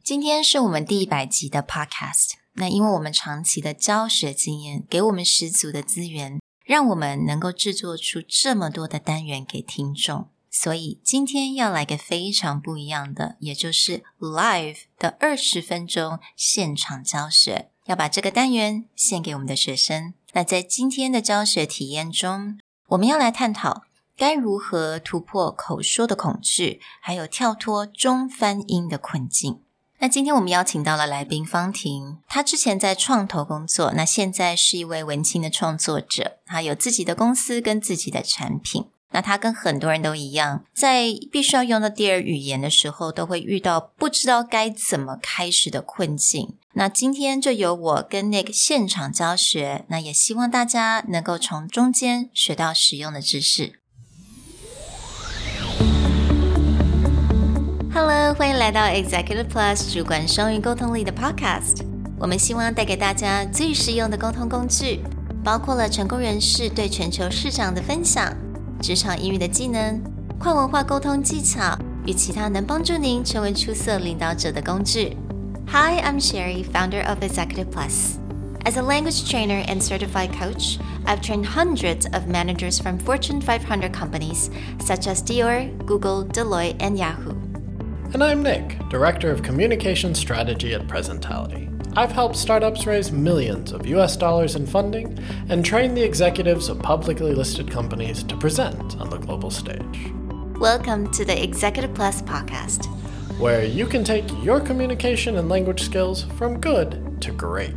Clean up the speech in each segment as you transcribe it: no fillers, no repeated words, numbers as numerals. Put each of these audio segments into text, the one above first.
今天是我們第100集的 podcast， 那因為我們長期的教學經驗，給我們十足的資源，讓我們能夠製作出這麼多的單元給聽眾。所以今天要來個非常不一樣的，也就是 live 的20分鐘現場教學，要把這個單元獻給我們的學生。那在今天的教學體驗中，我們要來探討該如何突破口說的恐懼，還有跳脫中翻英的困境。那今天我們邀請到了來賓方婷，她之前在創投工作，那現在是一位文青的創作者，她有自己的公司跟自己的產品。那她跟很多人都一樣，在必須要用到第二語言的時候，都會遇到不知道該怎麼開始的困境。那今天就由我跟 Nick 現場教學，那也希望大家能夠從中間學到實用的知識。Hello， 歡迎來到 Executive Plus 主管雙語溝通力的 Podcast。我們希望帶給大家最實用的溝通工具，包括了成功人士對全球市場的分享、職場英語的技能、跨文化溝通技巧與其他能幫助您成為出色領導者的工具。Hi, I'm Sherry, founder of Executive Plus. As a language trainer and certified coach, I've trained hundreds of managers from Fortune 500 companies such as Dior, Google, Deloitte, and Yahoo.And I'm Nick, Director of Communication Strategy at Presentality. I've helped startups raise millions of US dollars in funding and train the executives of publicly listed companies to present on the global stage. Welcome to the Executive Plus podcast, where you can take your communication and language skills from good to great.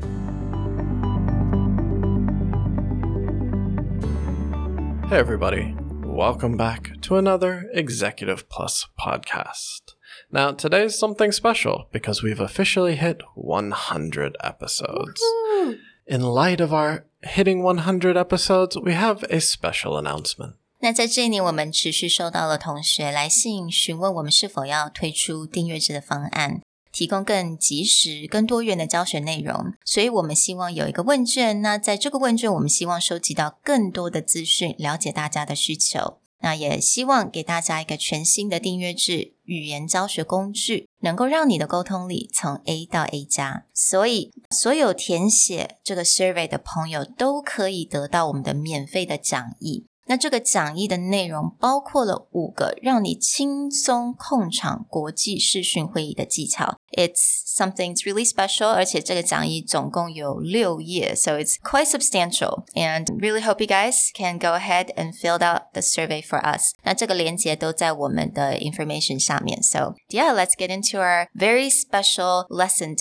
Hey everybody, welcome back to another Executive Plus podcast.Now, today's something special because we've officially hit 100 episodes. Woo-hoo! In light of our hitting 100 episodes, we have a special announcement. 那在這一年，我們持續收到了同學來信詢問我們是否要推出訂閱制的方案，提供更及時、更多元的教學內容。所以我們希望有一個問卷，那在這個問卷，我們希望收集到更多的資訊，了解大家的需求。那也希望給大家一個全新的訂閱制語言教學工具，能夠讓你的溝通力從 A 到 A 加。所以所有填寫這個 survey 的朋友都可以得到我們的免費的講義。那這個講義的內容包括了5個讓你輕鬆控場國際視訊會議的技巧。It's something really special, 而且這個講義總共有6頁 so it's quite substantial. And really hope you guys can go ahead and fill out the survey for us. 那這個連結都在我們的 information 下面。So yeah, let's get into our very special lesson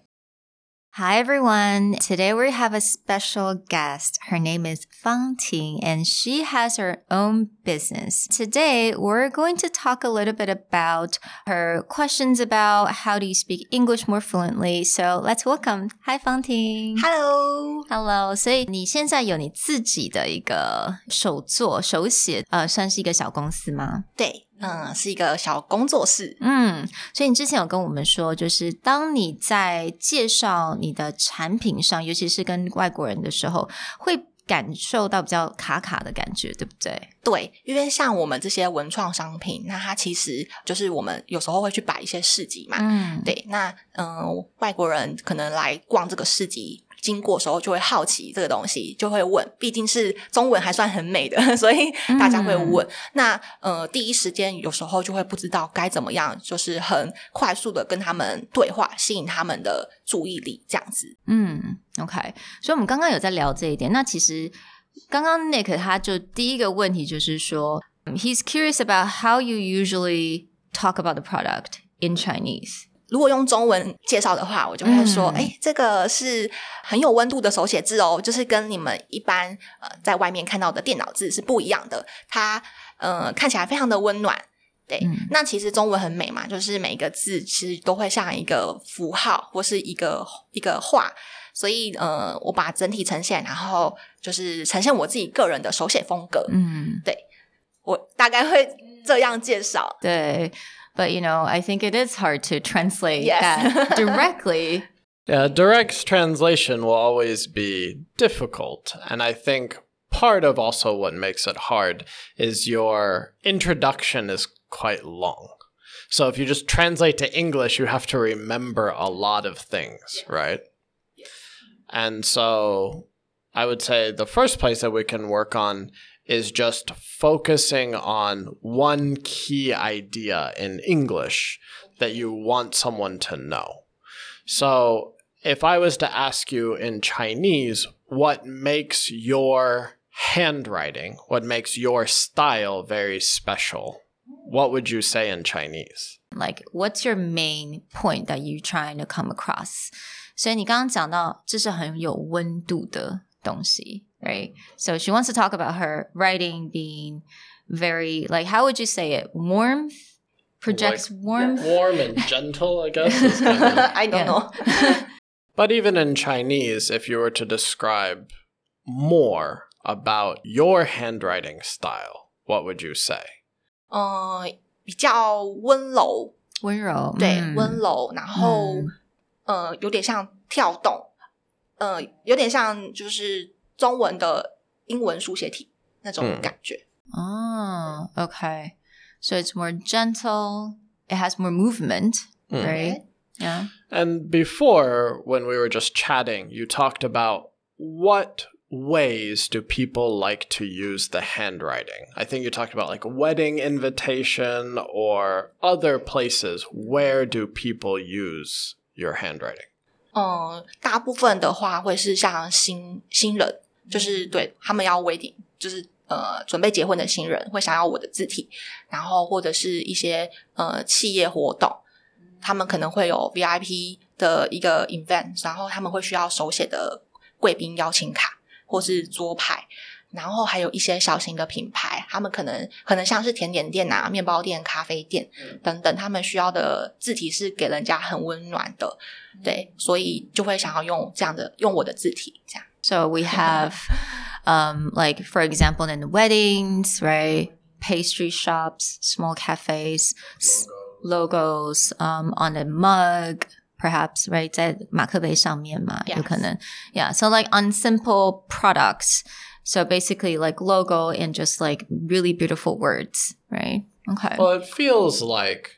today.Hi everyone, today we have a special guest. Her name is Fang Ting and she has her own business. Today we're going to talk a little bit about her questions about how do you speak English more fluently. So let's welcome. Hi Fang Ting. Hello. 所以你現在有你自己的一個手寫，算是一個小公司嗎？ 對。是一個小工作室。 所以你之前有跟我們說，就是當你在介紹你的產品上，尤其是跟外國人的時候，會感受到比較卡卡的感覺，對不對？ 對，因為像我們這些文創商品，那它其實就是我們有時候會去擺一些市集嘛。對，那外國人可能來逛這個市集，經過的時候就會好奇這個東西，就會問，畢竟是中文還算很美的，所以大家會問。那第一時間有時候就會不知道該怎麼樣，就是很快速的跟他們對話，吸引他們的注意力這樣子。 OK， 所以我們剛剛有在聊這一點。那其實剛剛 Nick 他就第一個問題就是說 He's curious about how you usually talk about the product in Chinese. 如果用中文介紹的話，我就會說這個是很有溫度的手寫字哦，就是跟你們一般在外面看到的電腦字是不一樣的，它看起來非常的溫暖。對，那其實中文很美嘛，就是每一個字其實都會像一個符號或是一個畫，所以我把整體呈現，然後就是呈現我自己個人的手寫風格。對，我大概會這樣介紹。 對。But, I think it is hard to translate that directly. Yeah, direct translation will always be difficult. And I think part of also what makes it hard is your introduction is quite long. So if you just translate to English, you have to remember a lot of things, right? And so I would say the first place that we can work on is just focusing on one key idea in English that you want someone to know. So if I was to ask you in Chinese, what makes your handwriting, what makes your style very special, what would you say in Chinese? Like, what's your main point that you're trying to come across? 所以你刚刚講到這是很有溫度的東西 right? So she wants to talk about her writing being very, like, how would you say it? Warmth? Projects like, warmth? Warm and gentle, I guess. Is kind of... I don't know. But even in Chinese, if you were to describe more about your handwriting style, what would you say? 比較溫柔。 溫柔。 對，溫柔，然後有點像跳動。有點像就是中文的英文書寫體那種感覺。 Okay. So it's more gentle. It has more movement, right? Yeah. And before, when we were just chatting, you talked about what ways do people like to use the handwriting? I think you talked about like wedding invitation or other places. Where do people use your handwriting? 大部分的話会是像新人，就是对他們要 wedding， 就是準備結婚的新人會想要我的字體，然後或者是一些企業活動，他們可能會有 VIP 的一個 event， 然後他們會需要手寫的貴賓邀請卡或是桌牌，然後還有一些小型的品牌，他們可能像是甜點店啊、麵包店、咖啡店等等，他們需要的字體是給人家很溫暖的，對，所以就會想要用這樣的用我的字體這樣。 So we have like for example in the weddings, right? Pastry shops, small cafes, logos on a mug, perhaps, right? 在馬克杯上面嘛，有可能。Yeah, so like on simple products. So basically like logo and just like really beautiful words, right? Okay. Well, it feels like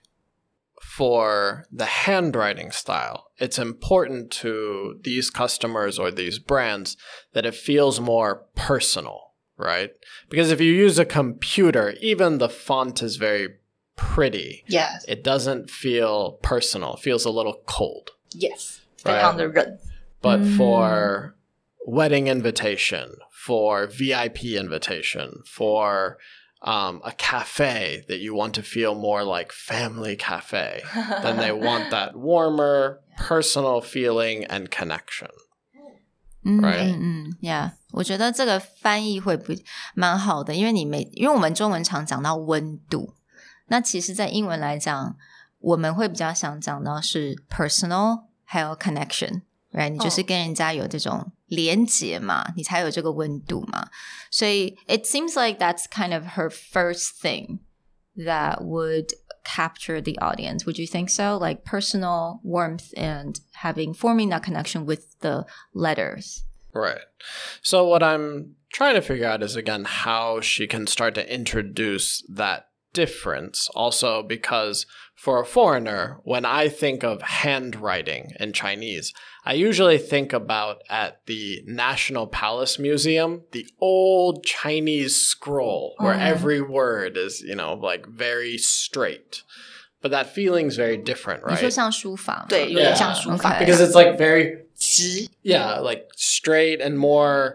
for the handwriting style, it's important to these customers or these brands that it feels more personal, right? Because if you use a computer, even the font is very pretty. Yes. It doesn't feel personal. It feels a little cold. Yes. Right? But for wedding invitation, for VIP invitation, for a cafe that you want to feel more like family cafe, then they want that warmer, personal feeling and connection. Right? Yeah. 我覺得這個翻譯會蠻好的，因為我們中文常講到溫度，那其實在英文來講，我們會比較想講到是 personal 還有 connection。Right? 你就是跟人家有這種連結嘛，你才有這個溫度嘛。所以 it seems like that's kind of her first thing that would capture the audience. Would you think so? Like personal warmth and forming that connection with the letters. Right. So what I'm trying to figure out is, again, how she can start to introduce that difference. Also because for a foreigner, when I think of handwriting in Chinese, I usually think about at the National Palace Museum, the old Chinese scroll where every word is, like very straight. But that feeling's very different, right? 你說像書法嗎？ 對，有點像書法。 Because it's like very, like straight and more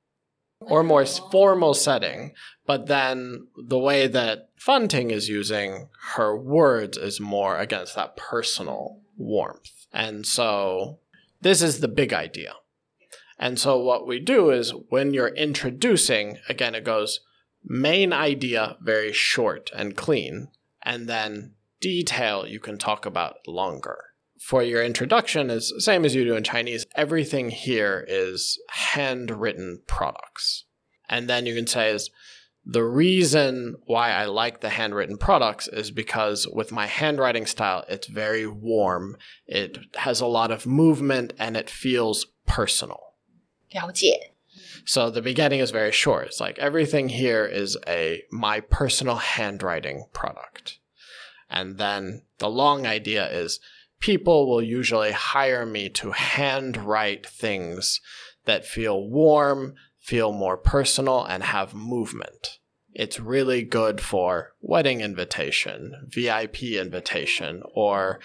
formal setting. But then the way that Fan Ting is using her words is more against that personal warmth. And so this is the big idea. And so what we do is when you're introducing, again, it goes main idea, very short and clean, and then detail you can talk about longer. For your introduction is the same as you do in Chinese. Everything here is handwritten products. And then you can say is, the reason why I like the handwritten products is because with my handwriting style, it's very warm. It has a lot of movement and it feels personal. 了解. So the beginning is very short. It's like everything here is my personal handwriting product. And then the long idea is people will usually hire me to handwrite things that feel warm, feel more personal, and have movement. It's really good for wedding invitation, VIP invitation, or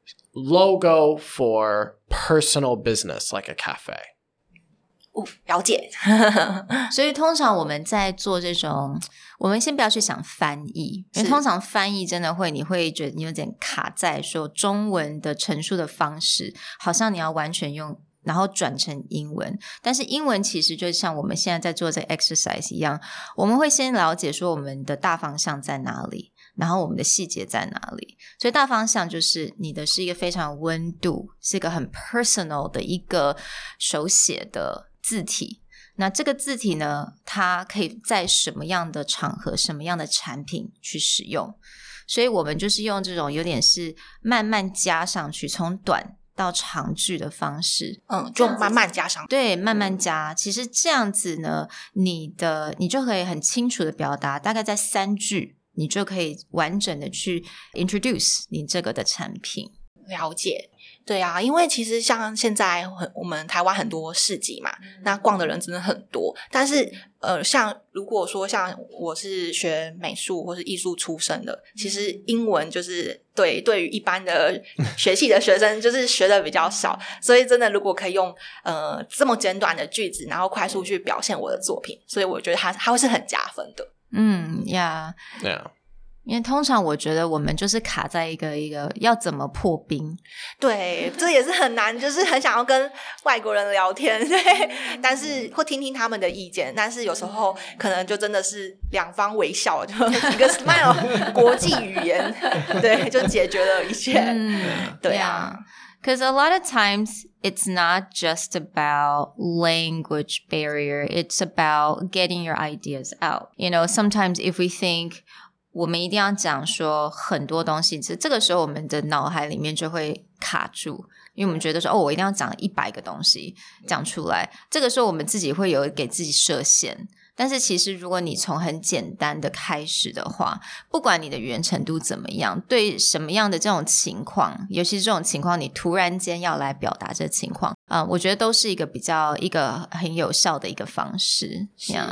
logo for personal business like a cafe. 了解。 所以通常我们在做这种，我们先不要去想翻译，因为通常翻译真的你会觉得你有點卡在說中文的陳述的方式，好像你要完全用然後轉成英文，但是英文其實就像我們現在在做這個 exercise 一樣，我們會先了解說我們的大方向在哪裡，然後我們的細節在哪裡。所以大方向就是你的是一個非常有溫度，是一個很 personal 的一個手寫的字體。那這個字體呢，它可以在什麼樣的場合，什麼樣的產品去使用，所以我們就是用這種有點是慢慢加上去，從短到長句的方式， 就慢慢加上， 對，慢慢加。其實這樣子呢，你就可以很清楚的表達，大概在3句，你就可以完整的去 introduce 你這個的產品。 了解，對啊，因為其實像現在我們台灣很多市集嘛，那逛的人真的很多，但是像如果說像我是學美術或是藝術出身的，其實英文就是對於一般的學系的學生就是學的比較少，所以真的如果可以用這麼簡短的句子，然後快速去表現我的作品，所以我覺得它會是很加分的。 Yeah. 因為通常我覺得我們就是卡在一個要怎麼破冰， 對，這也是很難，就是很想要跟外國人聊天，對，但是會聽聽他們的意見，但是有時候可能就真的是兩方微笑，就一個 smile 國際語言，對，就解決了一切。對啊。 Because a lot of times it's not just about language barrier, it's about getting your ideas out. You know, sometimes if we think我們一定要講說很多東西，這個時候我們的腦海裡面就會卡住，因為我們覺得說我一定要講100個東西講出來，這個時候我們自己會有給自己設限。但是其實如果你從很簡單的開始的話，不管你的語言程度怎麼樣，對什麼樣的這種情況，尤其是這種情況你突然間要來表達這個情況，我覺得都是一個很有效的一個方式。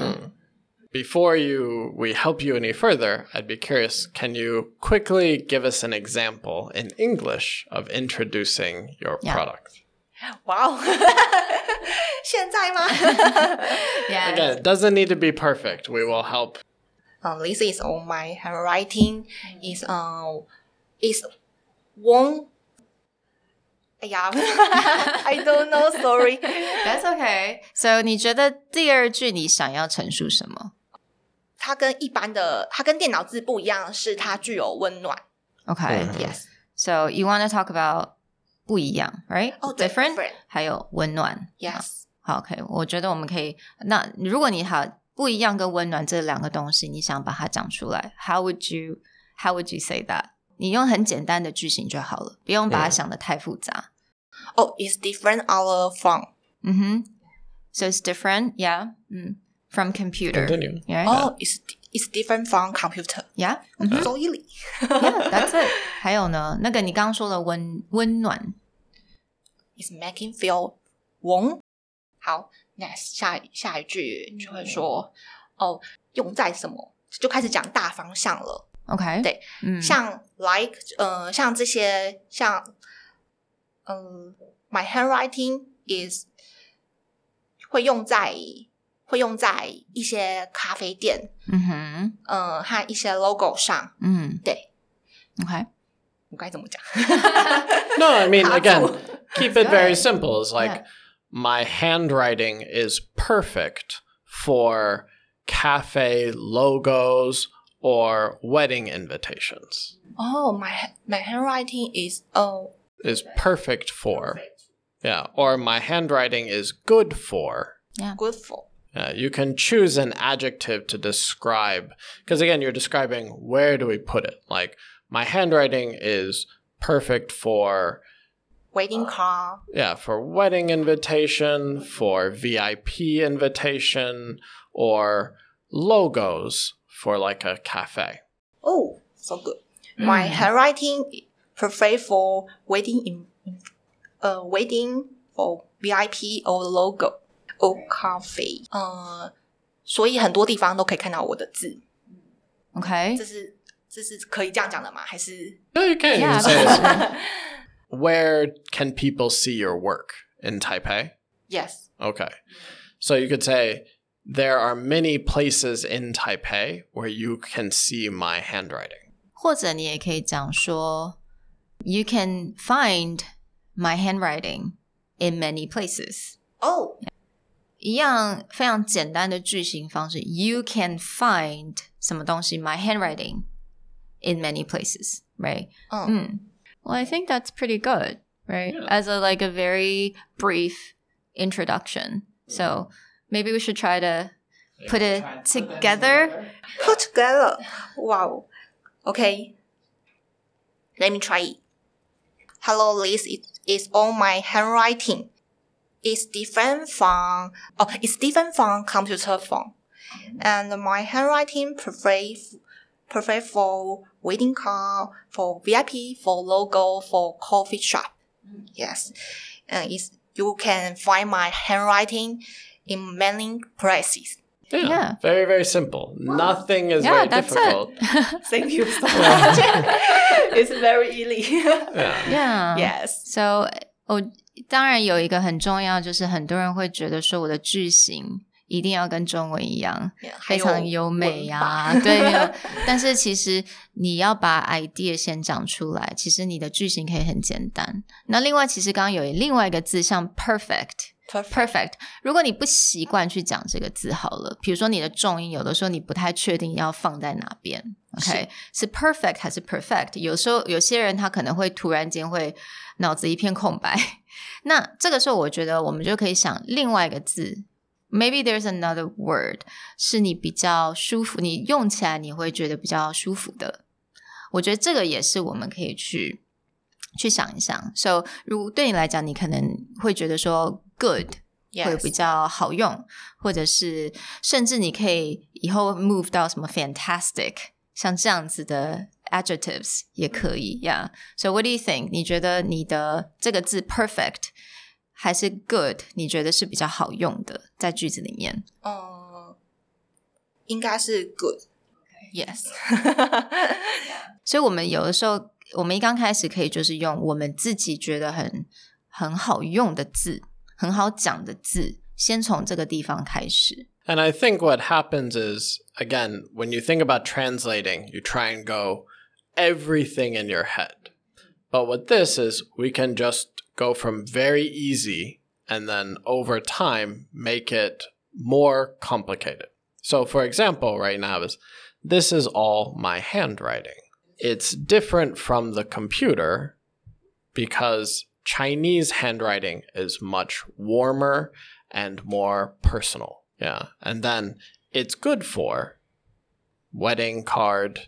Before we help you any further, I'd be curious, can you quickly give us an example in English of introducing your product? Wow. 現在嗎？ Yeah. Again, it doesn't need to be perfect. We will help. This is on my handwriting. Is warm. 哎呀 I don't know, sorry. That's okay. So 你覺得第二句你想要陳述什麼？ 它跟電腦字不一樣，是它具有溫暖。 Okay. Yes. So you want to talk about 不一樣 right? Different. 還有溫暖。 Yes. 好 OK. 我覺得我們可以，那如果你不一樣跟溫暖這兩個東西，你想把它講出來 How would you say that? 你用很簡單的句型就好了，不用把它想得太複雜。 It's different from. So it's different, yeah. From computer. Continue. Yeah. It's different from computer. Yeah. So easy. Yeah, that's it. 還有呢，那個你剛剛說的溫暖。 It's making feel warm. 好 ，next 下一句就會說用在什麼，就開始講大方向了。 OK， 對，像 like 像這些像my handwriting is 會用在一些咖啡店，和一些 logo 上，對 ，OK， 我該怎麼講 ？No, I mean again, keep it very simple. It's like my handwriting is perfect for cafe logos or wedding invitations. My handwriting is perfect for. Yeah, or my handwriting is good for. Yeah. Good for. You can choose an adjective to describe, because again, you're describing where do we put it. Like, my handwriting is perfect for wedding card. Yeah, for wedding invitation, for VIP invitation, or logos for like a cafe. Oh, so good. My handwriting perfect for waiting for VIP or logo or coffee. 所以很多地方都可以看到我的字。 OK， 这是可以这樣講的嗎？還是 No, you can. Yeah, You say where can people see your work in Taipei? Yes. Okay. So you could say there are many places in Taipei where you can see my handwriting. 或者你也可以講說 You can find my handwriting in many places. Oh. 一樣非常簡單的句型方式 You can find 什麼東西 my handwriting in many places, right? Well, I think that's pretty good, right? Yeah. As a very brief introduction. So maybe we should try to put it together. Put together. Wow. Okay. Let me try it. Hello, Liz. It's all my handwriting. It's different from computer phone. And my handwriting perfect for waiting car, for VIP, for logo, for coffee shop. Yes. And you can find my handwriting in many places. Yeah. Very, very simple. Nothing is very difficult. Thank you so much. It's very easy. Yeah. Yes. So, 當然有一個很重要，就是很多人會覺得說我的句型一定要跟中文一樣，非常優美啊。對，但是其實你要把 idea 先講出來，其實你的句型可以很簡單。那另外，其實剛剛有另外一個字，像 perfect。如果你不習慣去講這個字好了，比如說你的重音，有的時候你不太確定要放在哪邊 ，OK， 是 perfect 還是 perfect？ 有時候有些人他可能會突然間會腦子一片空白，那這個時候我覺得我們就可以想另外一個字 ，maybe there's another word 是你比較舒服，你用起來你會覺得比較舒服的。我覺得這個也是我們可以去想一想。So 如果對你來講，你可能會覺得說 good 會比較好用，或者是甚至你可以以後 move 到什麼 fantastic， 像這樣子的 adjectives 也可以 Yeah. So what do you think? 你覺得你的這個字 perfect 還是 good 你覺得是比較好用的在句子裡面？ 應該是 good. Yes. 所以我們有的時候我們一剛開始可以就是用我們自己覺得很好用的字，很好講的字，先從這個地方開始。 And I think what happens is, again, when you think about translating, you try and go everything in your head. But with this is we can just go from very easy and then over time make it more complicated. So for example, right now this is all my handwriting. It's different from the computer because Chinese handwriting is much warmer and more personal. Yeah. And then it's good for wedding card,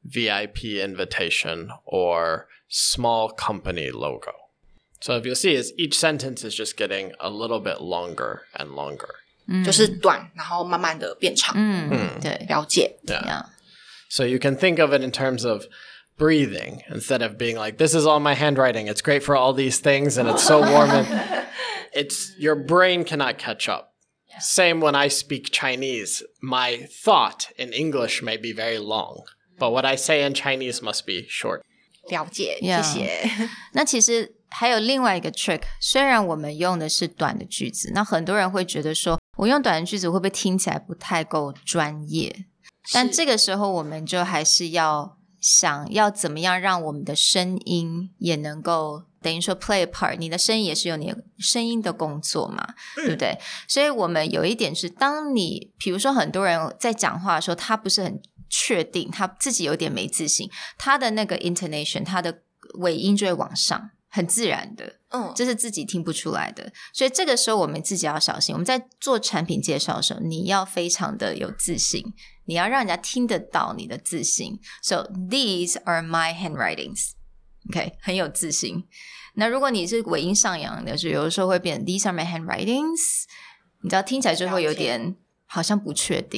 VIP invitation, or small company logo. So if you'll see is each sentence is just getting a little bit longer and longer. 就是短，然后慢慢的变长。对，了解。 Yeah. So you can think of it in terms of breathing instead of being like, this is all my handwriting. It's great for all these things and it's so warm. And your brain cannot catch up. Yeah. Same when I speak Chinese. My thought in English may be very long, but what I say in Chinese must be short. 了解，謝謝。 那其實還有另外一個 trick， 雖然我們用的是短的句子，那很多人會覺得說，我用短的句子會不會聽起來不太夠專業？但這個時候我們就還是要想要怎麼樣讓我們的聲音也能夠等於說 play a part， 你的聲音也是有你的聲音的工作嘛，對不對？所以我們有一點是，當你比如說很多人在講話的時候，他不是很確定，他自己有點沒自信，他的那個 intonation， 他的尾音就會往上，很自然的，這是自己聽不出來的。所以這個時候我們自己要小心，我們在做產品介紹的時候，你要非常的有自信，你要讓人家聽得到你的自信。So these are my handwritings. OK， 很有自信。那如果你是尾音上揚的，就有的時候會變 These are my handwritings， 你知道聽起來就會有點好像不確定。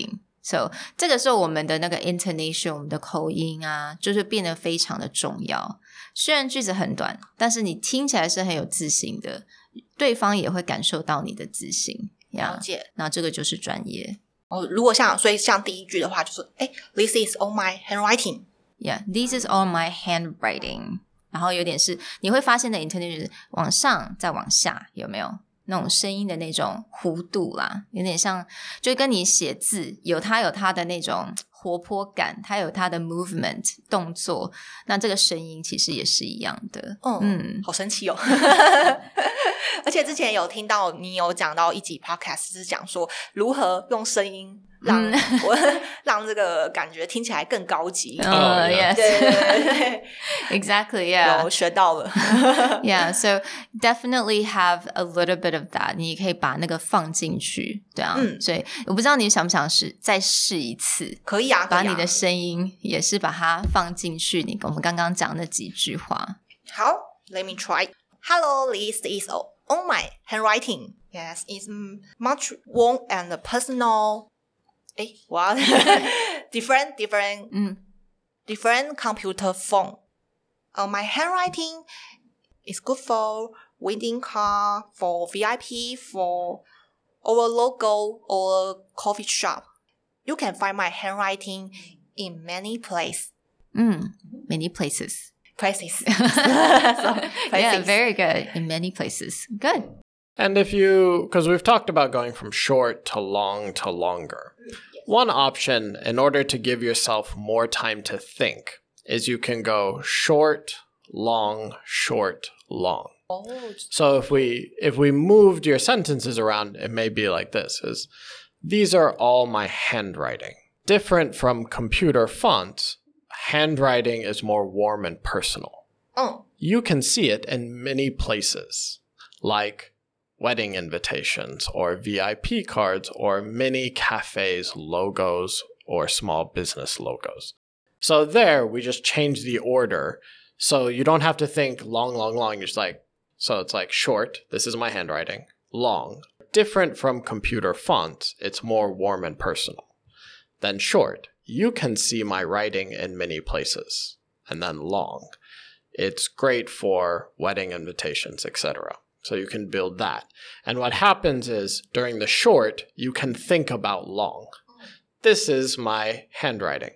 So 這個時候我們的那個 intonation 我們的口音啊就是變得非常的重要，雖然句子很短，但是你聽起來是很有自信的，對方也會感受到你的自信。 了解。 那這個就是專業。 如果所以像第一句的話就是this is all my handwriting. Yeah, this is all my handwriting. 然後有點是你會發現的 intonation 往上再往下，有沒有那種聲音的那種弧度啦，有點像就跟你寫字有它的那種活潑感，它有它的 movement 動作，那這個聲音其實也是一樣的。 好神奇哦。而且之前有聽到你有講到一集 podcast 是講說如何用聲音讓這個感覺聽起來更高級。 Yes. 對 Exactly, yeah. 有學到了。 Yeah, so definitely have a little bit of that. 你可以把那個放進去，對啊。所以我不知道你想不想再試一次。 可以啊， 把你的聲音也是把它放進去我們剛剛講那幾句話。 好 Let me try. Hello, this is all my handwriting. Yes, it's much warm and personal. What? different computer phone. My handwriting is good for wedding card, for VIP, for our logo or coffee shop. You can find my handwriting in many places. Many places. Places. Yeah, very good. In many places. Good. And because we've talked about going from short to long to longer. One option, in order to give yourself more time to think, is you can go short, long, short, long. So if we moved your sentences around, it may be like this, is these are all my handwriting. Different from computer fonts, handwriting is more warm and personal. You can see it in many places, like wedding invitations or VIP cards or many cafes logos or small business logos. So there, we just change the order. So you don't have to think long. You're just so it's like short, this is my handwriting, long. Different from computer fonts, it's more warm and personal. Then short, you can see my writing in many places. And then long, it's great for wedding invitations, etc. So you can build that. And what happens is, during the short, you can think about long. This is my handwriting.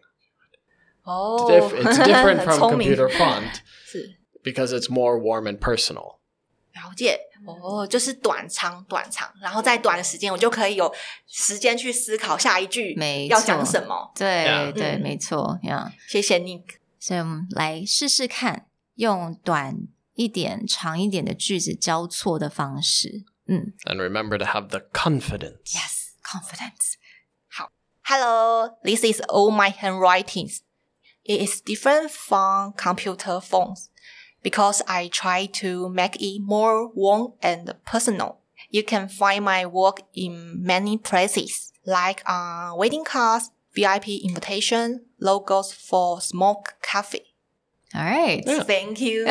It's different from computer font because it's more warm and personal. 了解就是短长，然后在短的时间我就可以有时间去思考下一句要講什麼。 對對，沒錯。 謝謝 Nick。 所以我們來試試看，用短一點、長一點的句子交錯的方式。 And remember to have the confidence. Yes, confidence. 好 Hello, this is all my handwritings. It is different from computer phones because I try to make it more warm and personal. You can find my work in many places, like wedding cards, VIP invitation, logos for small cafe. All right. Thank you.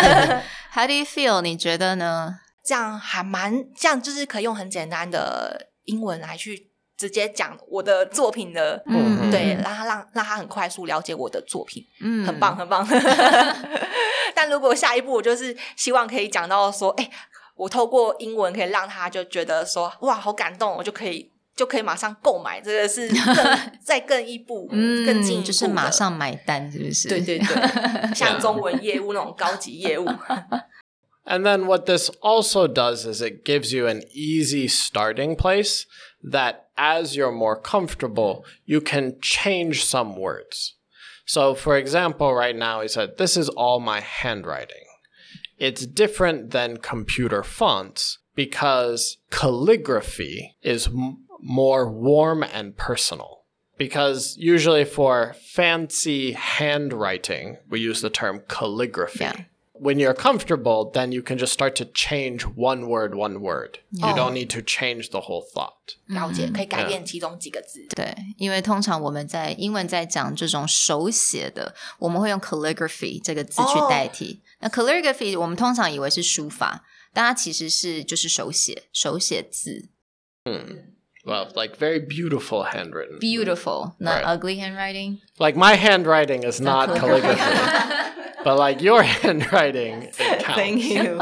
How do you feel? 你覺得呢？ 這樣就是可以用很簡單的英文來去直接講我的作品的，對，讓他很快速了解我的作品，很棒很棒。但如果下一步我就是希望可以講到說，我透過英文可以讓他就覺得說，哇，好感動，我就可以馬上購買，這個是再更一步，更進一步的， 就是馬上買單，是不是？ 對對對，像中文業務那種高級業務。 And then what this also does is it gives you an easy starting place that as you're more comfortable, you can change some words. So for example, right now he said, this is all my handwriting. It's different than computer fonts because calligraphy is more warm and personal. Because usually for fancy handwriting, we use the term calligraphy. Yeah. When you're comfortable, then you can just start to change one word. You don't need to change the whole thought. 了解，可以改變其中幾個字。 對，因為通常我們在英文在講這種手寫的，我們會用 calligraphy 這個字去代替。那 calligraphy 我們通常以為是書法，但它其實是就是手寫字。 Well, like very beautiful handwritten. Beautiful, not right. ugly handwriting. Like my handwriting is not calligraphy. But like your handwriting, it counts. Thank you.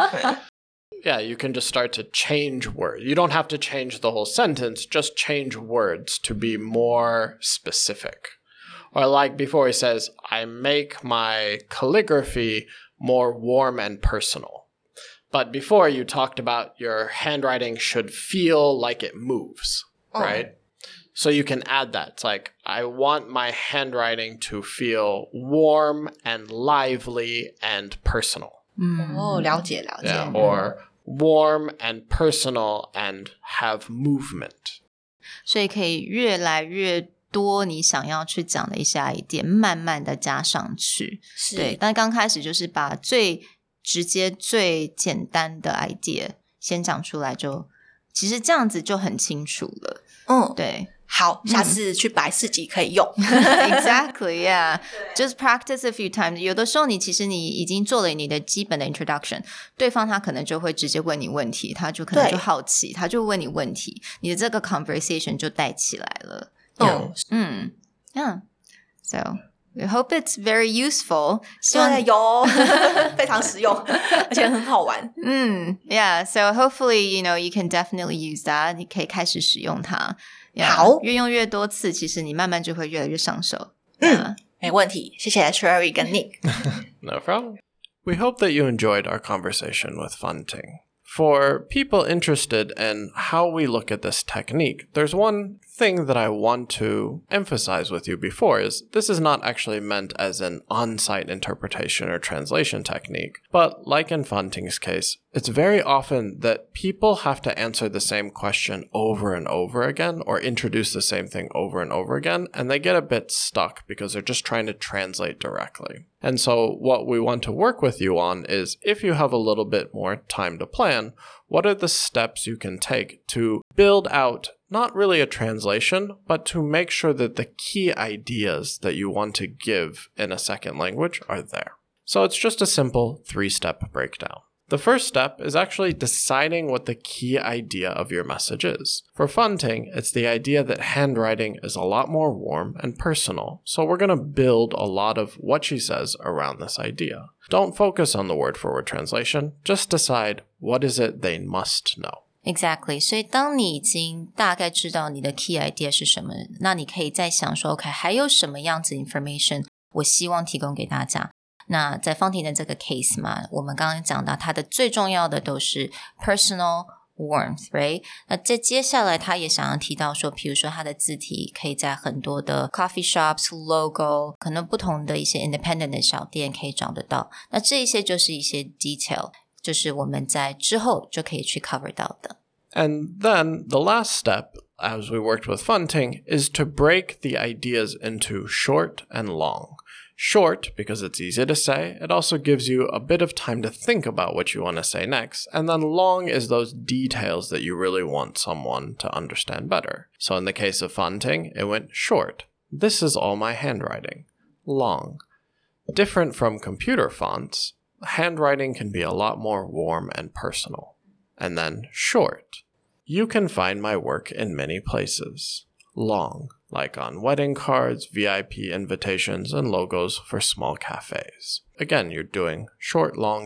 Yeah, you can just start to change words. You don't have to change the whole sentence, just change words to be more specific. Or like before he says, I make my calligraphy more warm and personal. But before you talked about your handwriting should feel like it moves, right? So you can add that. It's like, I want my handwriting to feel warm and lively and personal. 了解了解。 Yeah, or warm and personal and have movement. 所以可以越来越多你想要去講的一些 idea 慢慢的加上去。對，但剛開始就是把最直接最簡單的 idea 先講出來就，其實這樣子就很清楚了。對。 好，下次去擺市集可以用。 Exactly, yeah. Just practice a few times. 有的時候其實你已經做了你的基本的 introduction， 對方他可能就會直接問你問題，他就可能就好奇，他就問你問題，你的這個 conversation 就帶起來了。Yeah. So we hope it's very useful. 希望有非常實用，而且很好玩。 Yeah. So hopefully, you can definitely use that. 你可以開始使用它。Yeah, 好， 越用越多次，其實你慢慢就會越來越上手。 沒問題，謝謝 Sherry 跟 Nick。 No problem. We hope that you enjoyed our conversation with Fanting. For people interested in how we look at this technique, there's one thing that I want to emphasize with you before is this is not actually meant as an on-site interpretation or translation technique, but like in Fanting's case, it's very often that people have to answer the same question over and over again or introduce the same thing over and over again, and they get a bit stuck because they're just trying to translate directly. And so what we want to work with you on is if you have a little bit more time to plan, what are the steps you can take to build out not really a translation, but to make sure that the key ideas that you want to give in a second language are there. So it's just a simple 3-step breakdown. The first step is actually deciding what the key idea of your message is. For Fanting, it's the idea that handwriting is a lot more warm and personal, so we're going to build a lot of what she says around this idea. Don't focus on the word-for-word translation, just decide what is it they must know. Exactly. 所以当你已經大概知道你的 key idea 是什麼，那你可以再想說 OK 還有什麼樣子 information 我希望提供給大家。那在Fanting的這個 case 嘛，我們剛剛講到它的最重要的都是 personal warmth, right? 那接下來他也想要提到說，比如說它的字體可以在很多的 coffee shops, logo, 可能不同的一些 independent 的小店可以找得到。那這一些就是一些 detail， 就是我們在之後就可以去 cover 到的。 And then the last step, as we worked with Fanting, is to break the ideas into short and long. Short, because it's easy to say. It also gives you a bit of time to think about what you want to say next. And then long is those details that you really want someone to understand better. So in the case of Fanting, it went short. This is all my handwriting. Long. Different from computer fonts, handwriting can be a lot more warm and personal. And then short. You can find my work in many places. Long. Like on wedding cards, VIP invitations, and logos for small cafes. Again, you're doing short, long,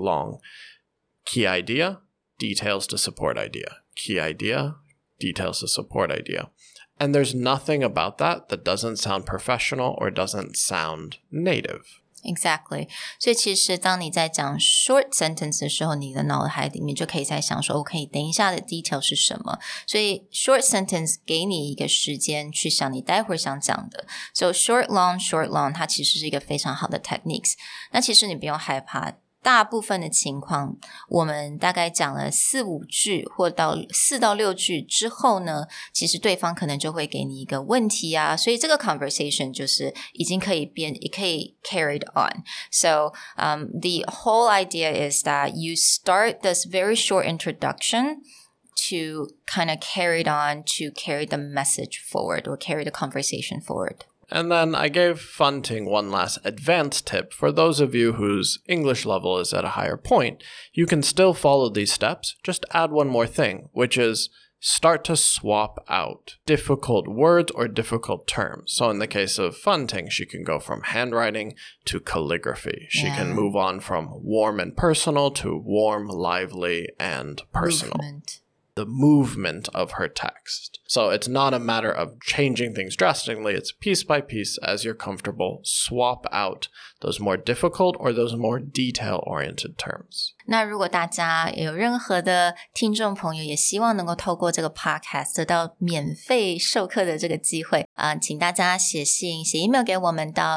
key idea, details to support idea. Key idea, details to support idea. And there's nothing about that that doesn't sound professional or doesn't sound native. Exactly. 所以其實當你在講 short sentence 的時候，你的腦海裡面就可以在想說 OK, 等一下的 detail 是什麼。所以 short sentence 給你一個時間去想你待會兒想講的。So short, long, 它其實是一個非常好的 techniques。那其實你不用害怕。大部分的情況，我們大概講了4-5句或到4到6句之後呢，其實對方可能就會給你一個問題啊，所以這個 conversation 就是已經可以變，也可以 carried on. So the whole idea is that you start this very short introduction to kind of carry it on, to carry the message forward or carry the conversation forward. And then I gave Fanting one last advanced tip. For those of you whose English level is at a higher point, you can still follow these steps. Just add one more thing, which is start to swap out difficult words or difficult terms. So in the case of Fanting, she can go from handwriting to calligraphy. She can move on from warm and personal to warm, lively, and personal. The movement of her text. So it's not a matter of changing things drastically. It's piece by piece as you're comfortable. Swap out those more difficult or those more detail-oriented terms. 那如果大家有任何的听众朋友也希望能夠透過這個 podcast 得到免費授課的這個機會請大家寫信寫 email 給我們到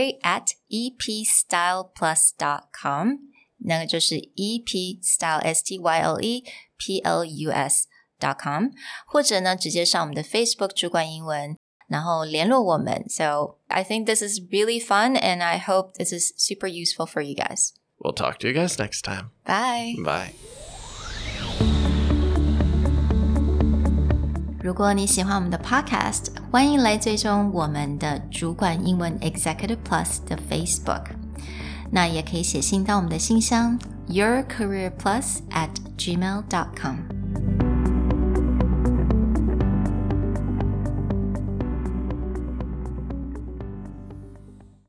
sherry@epstyleplus.com 那個就是 epstyle STYLEPLUS.com 或者呢直接上我們的 Facebook 主管英文然後聯絡我們 So I think this is really fun and I hope this is super useful for you guys. We'll talk to you guys next time. Bye. Bye. 如果你喜歡我們的 podcast 歡迎來追蹤我們的主管英文 Executive Plus 的 Facebook那也可以寫信到我們的信箱yourcareerplus@gmail.com